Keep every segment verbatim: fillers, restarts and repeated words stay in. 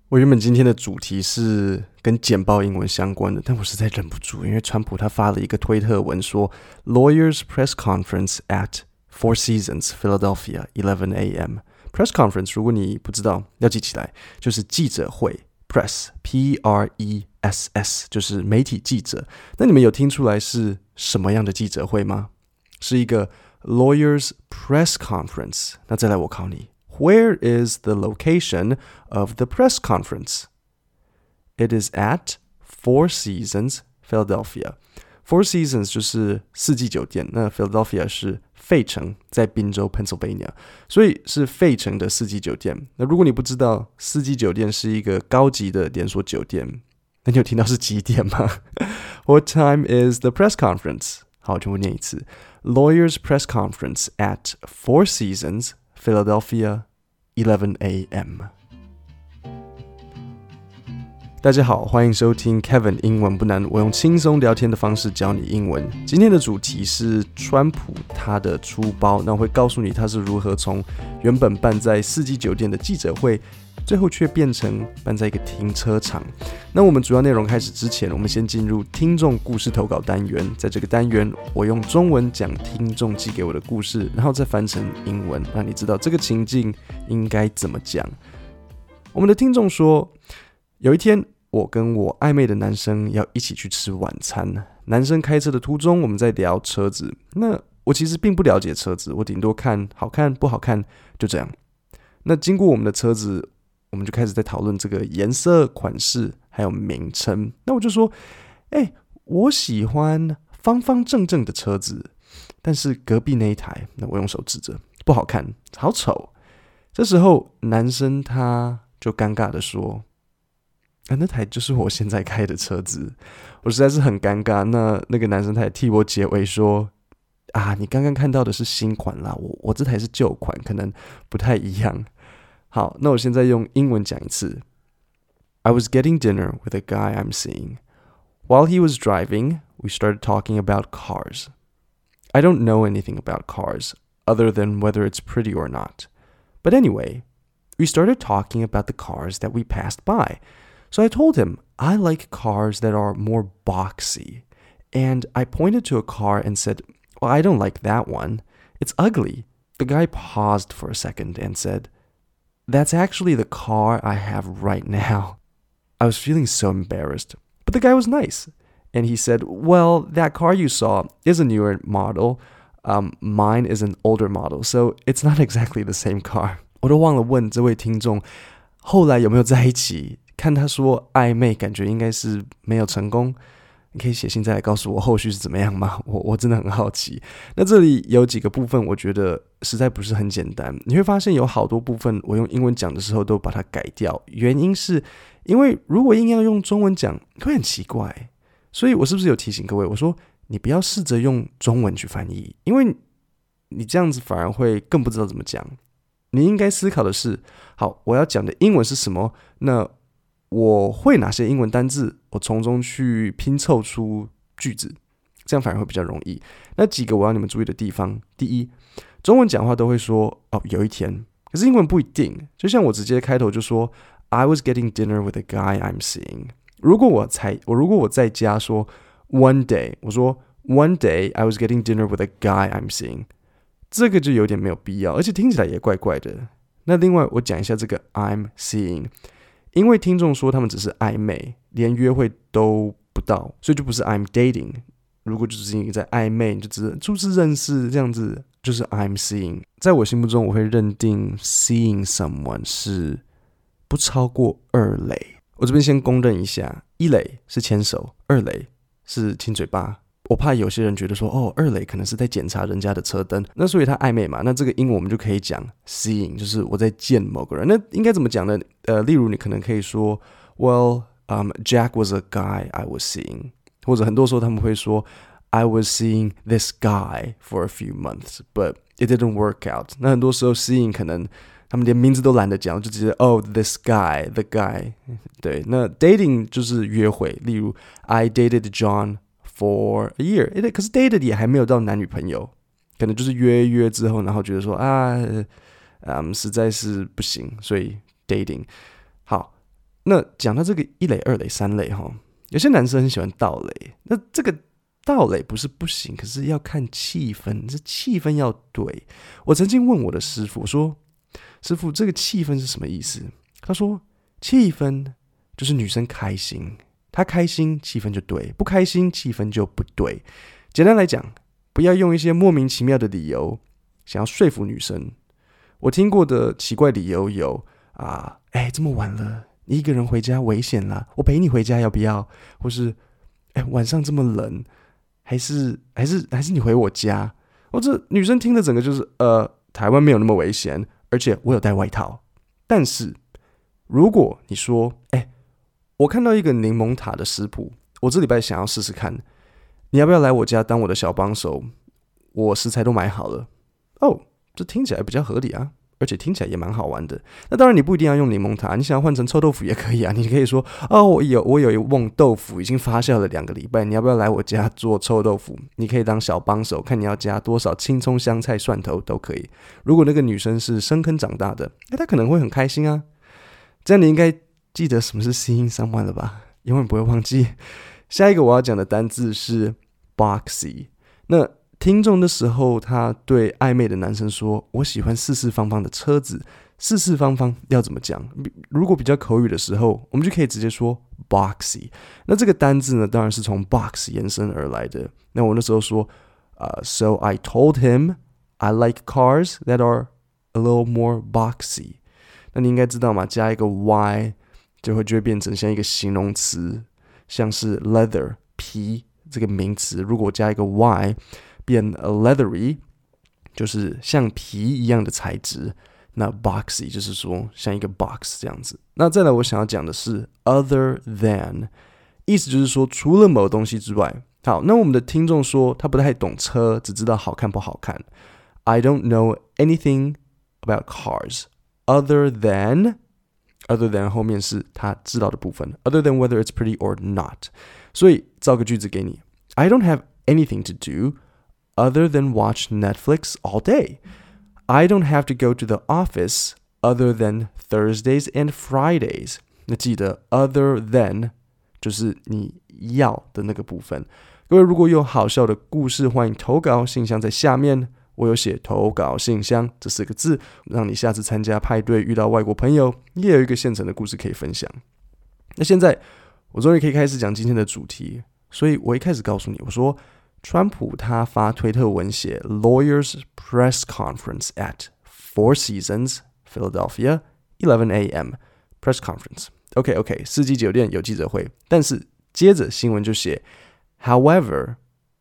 我原本今天的主題是跟簡報英文相關的，但我實在忍不住，因為川普他發了一個推特文說 Lawyers press conference at Four Seasons Philadelphia eleven a m Press conference 如果你不知道要記起來，就是記者會 Press P R E S S 就是媒體記者。那你們有聽出來是什麼樣的記者會嗎？是一個 Lawyers press conference。那再來我考你，Where is the location of the press conference? It is at Four Seasons, Philadelphia. Four Seasons 就是四季酒店，那 Philadelphia 是費城，在賓州 Pennsylvania， 所以是費城的四季酒店。那如果你不知道四季酒店是一個高級的連鎖酒店，那你有聽到是幾點嗎？ What time is the press conference? 好，全部念一次。Lawyers press conference at Four Seasons, Philadelphia, eleven a m 大家好，歡迎收聽 Kevin 英文不難，我用輕鬆聊天的方式教你英文。今天的主題是川普他的出包，那我會告訴你他是如何從原本辦在四季酒店的記者會，最後卻變成辦在一個停車場。那我們主要內容開始之前，我們先進入聽眾故事投稿單元。在這個單元，我用中文講聽眾寄給我的故事，然後再翻成英文，讓你知道這個情境應該怎麼講。我們的聽眾說，有一天我跟我曖昧的男生要一起去吃晚餐，男生開車的途中，我們在聊車子。那我其實並不了解車子，我頂多看好看不好看，就這樣。那經過我們的車子，我們就開始在討論這個顏色、款式還有名稱。那我就說，哎、欸，我喜歡方方正正的車子，但是隔壁那一台，那我用手指着，不好看，好醜。這時候男生他就尷尬的說，啊，那台就是我現在開的車子。我實在是很尷尬。那那個男生他也替我解圍說，啊，你剛剛看到的是新款啦，我我這台是舊款，可能不太一樣。好，那我現在用英文講一次。I was getting dinner with a guy I'm seeing. While he was driving, we started talking about cars. I don't know anything about cars, other than whether it's pretty or not. But anyway, we started talking about the cars that we passed by.So I told him, I like cars that are more boxy. And I pointed to a car and said, well, I don't like that one. It's ugly. The guy paused for a second and said, that's actually the car I have right now. I was feeling so embarrassed. But the guy was nice. And he said, well, that car you saw is a newer model. Um, mine is an older model, so it's not exactly the same car. 我都忘了問這位聽眾，後來有沒有在一起？看他說曖昧，感覺應該是沒有成功。你可以寫信再來告訴我後續是怎麼樣嗎？我我真的很好奇。那這裡有幾個部分，我覺得實在不是很簡單。你會發現有好多部分，我用英文講的時候都把它改掉。原因是因為如果硬要用中文講，會很奇怪。所以我是不是有提醒各位？我說你不要試着用中文去翻譯，因為你這樣子反而會更不知道怎麼講。你應該思考的是，好，我要講的英文是什麼？那我會哪些英文單字，我從中去拼湊出句子，這樣反而會比較容易。那幾個我要你們注意的地方，第一，中文講話都會說哦，有一天，可是英文不一定。就像我直接開頭就說 I was getting dinner with a guy I'm seeing。如果我才我如果我再加說 one day， 我說 one day I was getting dinner with a guy I'm seeing， 這個就有點沒有必要，而且聽起來也怪怪的。那另外我講一下這個 I'm seeing。因為聽眾說他們只是曖昧，連約會都不到，所以就不是 I'm dating。如果就是你在曖昧，你就只是初次認識這樣子，就是 I'm seeing。在我心目中，我會認定 seeing someone 是不超過二壘。我這邊先公認一下，一壘是牽手，二壘是親嘴巴。我怕有些人覺得說，哦，二壘可能是在檢查人家的車燈，那所以他曖昧嘛，那這個英文我們就可以講 seeing， 就是我在見某個人。那應該怎麼講呢？呃，例如你可能可以說 ，Well, um, Jack was a guy I was seeing， 或者很多時候他們會說 I was seeing this guy for a few months, but it didn't work out。那很多時候 seeing 可能他們連名字都懶得講，就直接 Oh, this guy, the guy。對，那 dating 就是約會，例如 I dated John。For a year， 可是 dated 也還沒有到男女朋友，可能就是約約之後，然後覺得說啊，嗯，實在是不行，所以 dating。好， 那講到這個一壘、二壘、三壘哈，有些男生很喜歡盜壘，那這個盜壘不是不行，可是要看氣氛，這氣氛要對。我曾經問我的師傅說：“師傅，這個氣氛是什麼意思？”他說：“氣氛就是女生開心，她開心氣氛就對，不開心氣氛就不對。簡單來講，不要用一些莫名其妙的理由想要說服女生。我聽過的奇怪理由有啊，哎，這麼晚了。”你一個人回家危險啦，我陪你回家要不要？或是，哎，晚上這麼冷，還是還是還是你回我家？或者女生聽的整個就是，呃，台灣沒有那麼危險，而且我有帶外套。但是如果你說，哎，我看到一個檸檬塔的食譜，我這禮拜想要試試看，你要不要來我家當我的小幫手？我食材都買好了。哦，這聽起來比較合理啊。而且聽起來也蠻好玩的。那當然，你不一定要用檸檬塔，你想要換成臭豆腐也可以啊。你可以說：“哦，我有我有一甕豆腐，已經發酵了兩個禮拜，你要不要來我家做臭豆腐？”你可以當小幫手，看你要加多少青蔥、香菜、蒜頭都可以。如果那個女生是深坑長大的，那她可能會很開心啊。這樣你應該記得什麼是 seeing someone 了吧？永遠不會忘記。下一個我要講的單字是 boxy。那聽眾的時候，他對曖昧的男生說：“我喜歡四四方方的車子。”四四方方要怎麼講？如果比較口語的時候，我們就可以直接說 boxy。那這個單字呢，當然是從 box 延伸而來的。那我那時候說，呃、uh, ，So I told him I like cars that are a little more boxy。那你應該知道嘛，加一個 y 就會就會變成像一個形容詞，像是 leather 皮這個名詞，如果加一個 y。變 leathery 就是像皮一樣的材質，那 boxy 就是說像一個 box 這樣子。那再來我想要講的是 other than， 意思就是說除了某東西之外。好，那我們的聽眾說他不太懂車，只知道好看不好看。I don't know anything about cars other than other than 後面是他知道的部分 other than whether it's pretty or not。 所以造個句子給你， I don't have anything to do other than watch Netflix all day. I don't have to go to the office other than Thursdays and Fridays. 那記得 other than 就是你要的那個部分。各位如果有好笑的故事，歡迎投稿，信箱在下面。我有寫投稿信箱這四個字，讓你下次參加派對遇到外國朋友，也有一個現成的故事可以分享。那現在我終於可以開始講今天的主題，所以我一開始告訴你，我說川普他發推特文寫 Lawyers Press Conference at Four Seasons Philadelphia eleven a.m. Press Conference OK OK 四季酒店有記者會，但是接着新聞就寫 However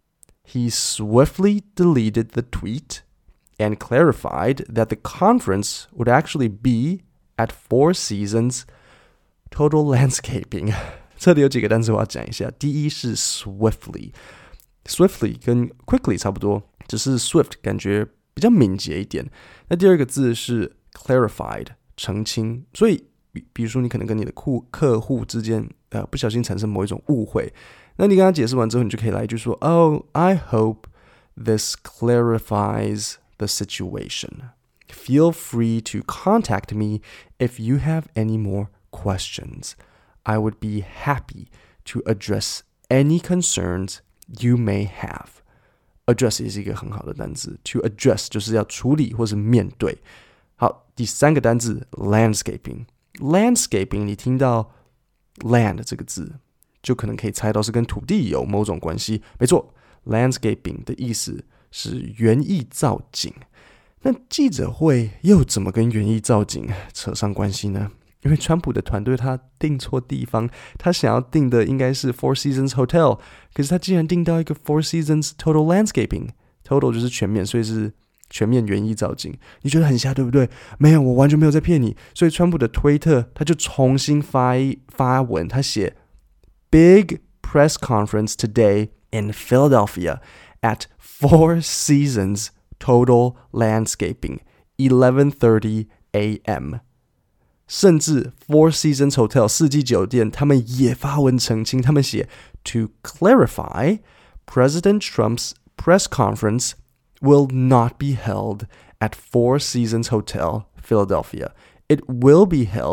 he swiftly deleted the tweet and clarified that the conference would actually be at Four Seasons Total Landscaping 這裡有幾個單詞我要講一下。第一是 swiftly Swiftly 跟 quickly 差不多，只是 swift 感覺比較敏捷一點。那第二個字是 clarified 澄清，所以比比如說你可能跟你的客客戶之間呃不小心產生某一種誤會，那你跟他解釋完之後，你就可以來一句說 Oh, I hope this clarifies the situation. Feel free to contact me if you have any more questions. I would be happy to address any concerns You may have. Address 也是一個很好的單字。To address 就是要處理或是面對。好，第三個單字 landscaping。Landscaping 你聽到 land 這個字，就可能可以猜到是跟土地有某種關係。沒錯 ，landscaping 的意思是園藝造景。那記者會又怎麼跟園藝造景扯上關係呢？因為川普的團隊他訂錯地方，他想要訂的應該是 Four Seasons Hotel， 可是他竟然訂到一個 Four Seasons Total Landscaping， Total 就是全面，所以是全面園藝造景。你覺得很瞎對不對？沒有，我完全沒有在騙你。所以川普的推特他就重新發一發文，他寫 Big press conference today in Philadelphia at Four Seasons Total Landscaping eleven thirty a.m. 甚至 Four Seasons Hotel 四季酒店他們也發文澄清，他們寫 To clarify, President Trump's press conference will not be held at Four Seasons Hotel Philadelphia. It will be held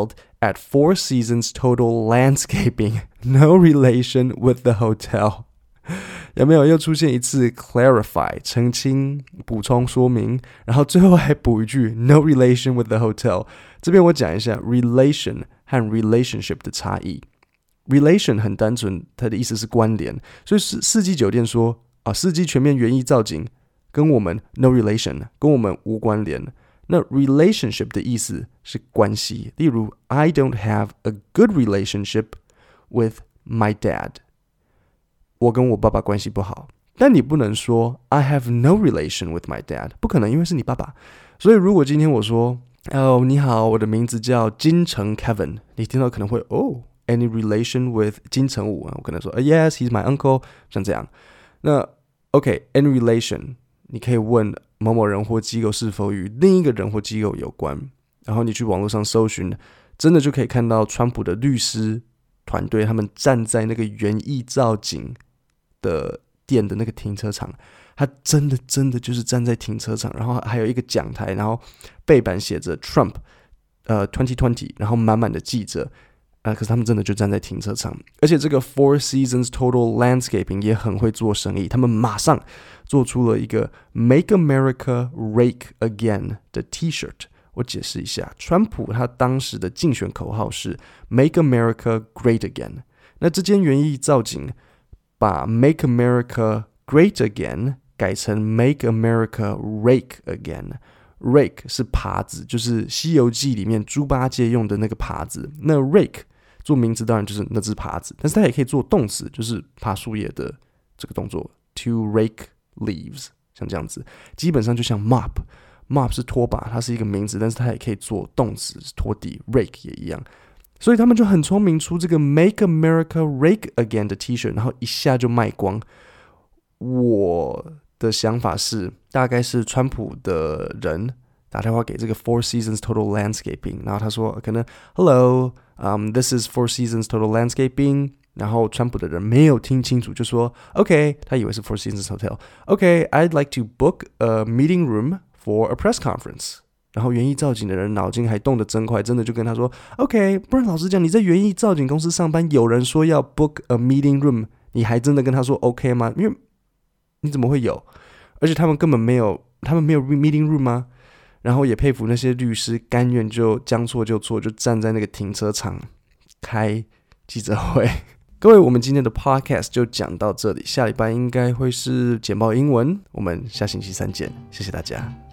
at Four Seasons Total Landscaping, no relation with the hotel。有沒有又出現一次 clarify 澄清補充說明，然後最後還補一句 no relation with the hotel。這邊我講一下 relation 和 relationship 的差異。relation 很單純，它的意思是關聯，所以四季酒店說啊，四季全面園藝造景跟我們 no relation， 跟我們無關聯。那 relationship 的意思是關係，例如 I don't have a good relationship with my dad。我跟我爸爸關係不好，但你不能說 I have no relation with my dad， 不可能，因為是你爸爸。所以如果今天我說哦，你好，我的名字叫金城 Kevin， 你聽到可能會哦 any relation with 金城武？我可能說、oh, yes, he's my uncle， 像這樣。那 OK any relation， 你可以問某某人或機構是否與另一個人或機構有關，然後你去網絡上搜尋，真的就可以看到川普的律師團隊他們站在那個園藝造景的店的那個停車場，他真的真的就是站在停車場，然後還有一個講台，然後背板寫着 Trump 呃二零二零，然後滿滿的記者、呃、可是他們真的就站在停車場。而且這個 Four Seasons Total Landscaping 也很會做生意，他們馬上做出了一個 Make America Rake Again 的 T-shirt。我解釋一下，川普他當時的競選口號是 Make America Great Again。那這間園藝造景把 Make America Great Again 改成 Make America Rake Again。Rake 是耙子，就是《西遊記》裡面豬八戒用的那個耙子。那 Rake 做名詞當然就是那只耙子，但是它也可以做動詞，就是耙樹葉的這個動作 To rake leaves， 像這樣子，基本上就像 Mop。Mop 是拖把，它是一個名詞，但是它也可以做動詞，拖地。Rake 也一樣，所以他們就很聰明，出這個 Make America Rake Again 的 T-shirt， 然後一下就賣光。我的想法是，大概是川普的人打電話給這個 Four Seasons Total Landscaping， 然後他說可能 Hello，um, this is Four Seasons Total Landscaping， 然後川普的人沒有聽清楚，就說 OK， 他以為是 Four Seasons Hotel。OK，I'd like to book a meeting room for a press conference。 然後園藝造景的人腦筋還動得真快，真的就跟他說 OK， 不然老實講，你在園藝造景公司上班，有人說要 book a meeting room， 你還真的跟他說 OK 嗎？因為你怎麼會有？而且他們根本沒有，他們沒有 meeting room 嗎？然後也佩服那些律師甘願就將錯就錯，就站在那個停車場開記者會。各位，我們今天的 podcast 就講到這裡，下禮拜應該會是簡報英文，我們下星期三見，謝謝大家。